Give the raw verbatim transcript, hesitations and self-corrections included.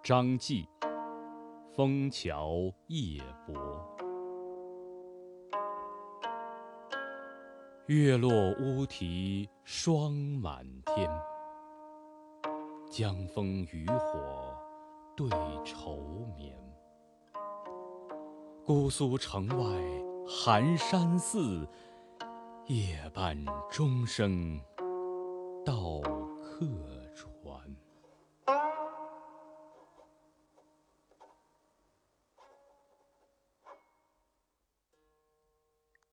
张继，枫桥夜泊。月落乌啼霜满天，江枫渔火对愁眠。姑苏城外寒山寺，夜半钟声